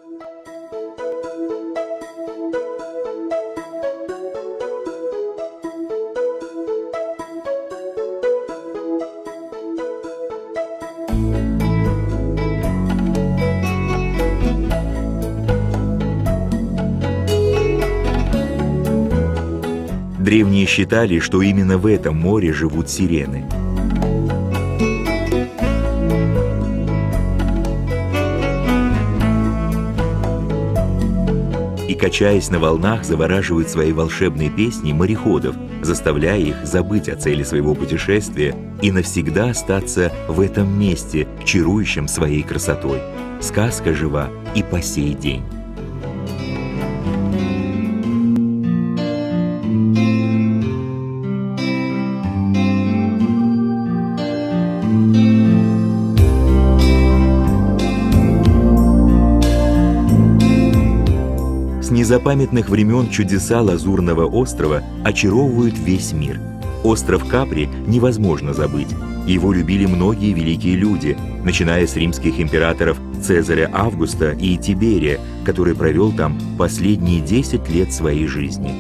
Древние считали, что именно в этом море живут сирены. И, качаясь на волнах, завораживают своей волшебной песней мореходов, заставляя их забыть о цели своего путешествия и навсегда остаться в этом месте, чарующем своей красотой. Сказка жива и по сей день. С незапамятных времен чудеса Лазурного острова очаровывают весь мир. Остров Капри невозможно забыть. Его любили многие великие люди, начиная с римских императоров Цезаря Августа и Тиберия, который провел там последние 10 лет своей жизни.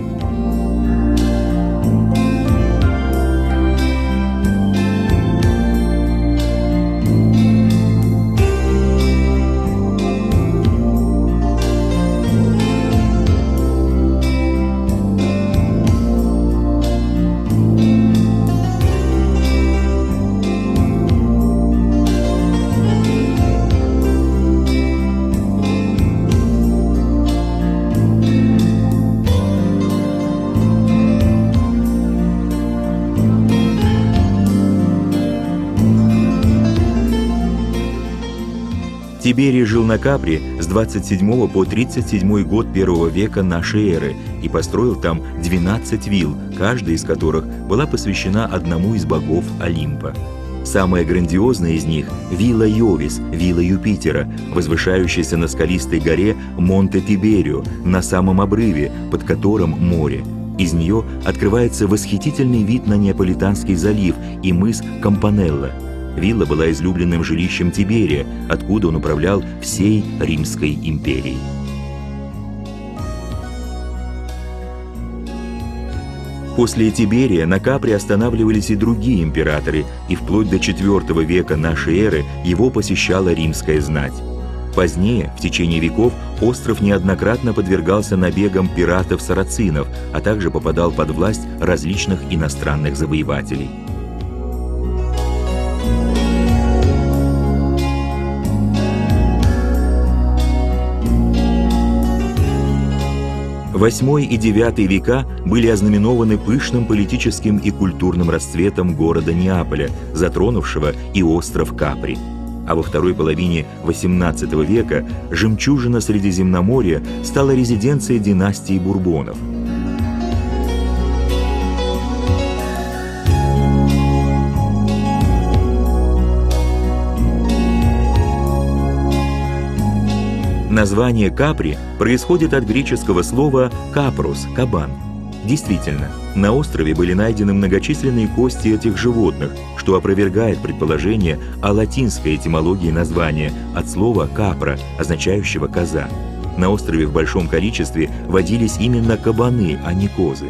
Тиберий жил на Капри с 27 по 37 год первого века нашей эры и построил там 12 вилл, каждая из которых была посвящена одному из богов Олимпа. Самая грандиозная из них – вилла Йовис, вилла Юпитера, возвышающаяся на скалистой горе Монте-Тиберио, на самом обрыве, под которым море. Из нее открывается восхитительный вид на Неаполитанский залив и мыс Кампанелла. Вилла была излюбленным жилищем Тиберия, откуда он управлял всей Римской империей. После Тиберия на Капри останавливались и другие императоры, и вплоть до IV века нашей эры его посещала римская знать. Позднее, в течение веков, остров неоднократно подвергался набегам пиратов-сарацинов, а также попадал под власть различных иностранных завоевателей. VIII и IX века были ознаменованы пышным политическим и культурным расцветом города Неаполя, затронувшего и остров Капри. А во второй половине XVIII века жемчужина Средиземноморья стала резиденцией династии Бурбонов. Название Капри происходит от греческого слова «капрос» – «кабан». Действительно, на острове были найдены многочисленные кости этих животных, что опровергает предположение о латинской этимологии названия от слова «капра», означающего «коза». На острове в большом количестве водились именно кабаны, а не козы.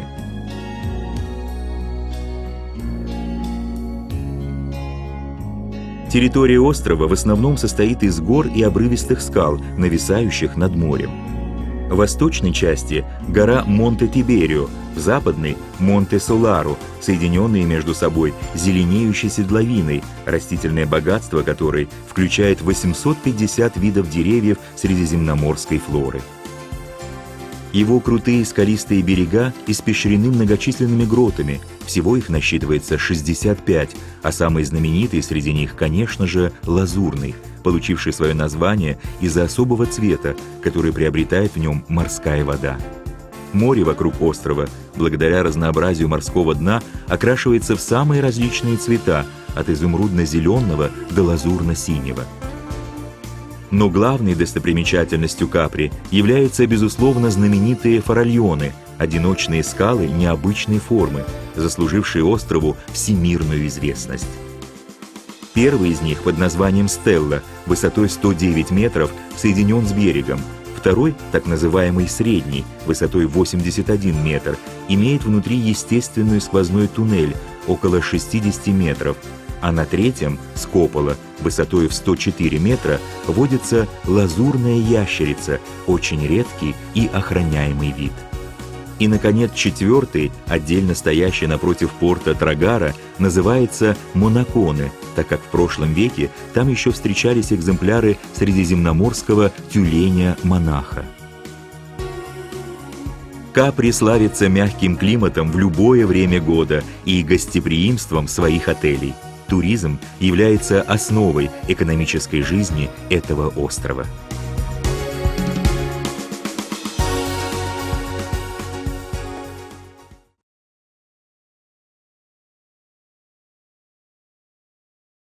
Территория острова в основном состоит из гор и обрывистых скал, нависающих над морем. В восточной части – гора Монте-Тиберио, в западной – Монте-Солару, соединенные между собой зеленеющей седловиной, растительное богатство которой включает 850 видов деревьев средиземноморской флоры. Его крутые скалистые берега испещрены многочисленными гротами, всего их насчитывается 65, а самый знаменитый среди них, конечно же, Лазурный, получивший свое название из-за особого цвета, который приобретает в нем морская вода. Море вокруг острова, благодаря разнообразию морского дна, окрашивается в самые различные цвета, от изумрудно-зеленого до лазурно-синего. Но главной достопримечательностью Капри являются, безусловно, знаменитые форальоны, одиночные скалы необычной формы, заслужившие острову всемирную известность. Первый из них под названием «Стелла» высотой 109 метров соединен с берегом. Второй, так называемый «Средний», высотой 81 метр, имеет внутри естественный сквозной туннель около 60 метров, а на третьем, с купола, высотой в 104 метра, водится лазурная ящерица, очень редкий и охраняемый вид. И, наконец, четвертый, отдельно стоящий напротив порта Трагара, называется Монаконе, так как в прошлом веке там еще встречались экземпляры средиземноморского тюленя-монаха. Капри славится мягким климатом в любое время года и гостеприимством своих отелей. Туризм является основой экономической жизни этого острова.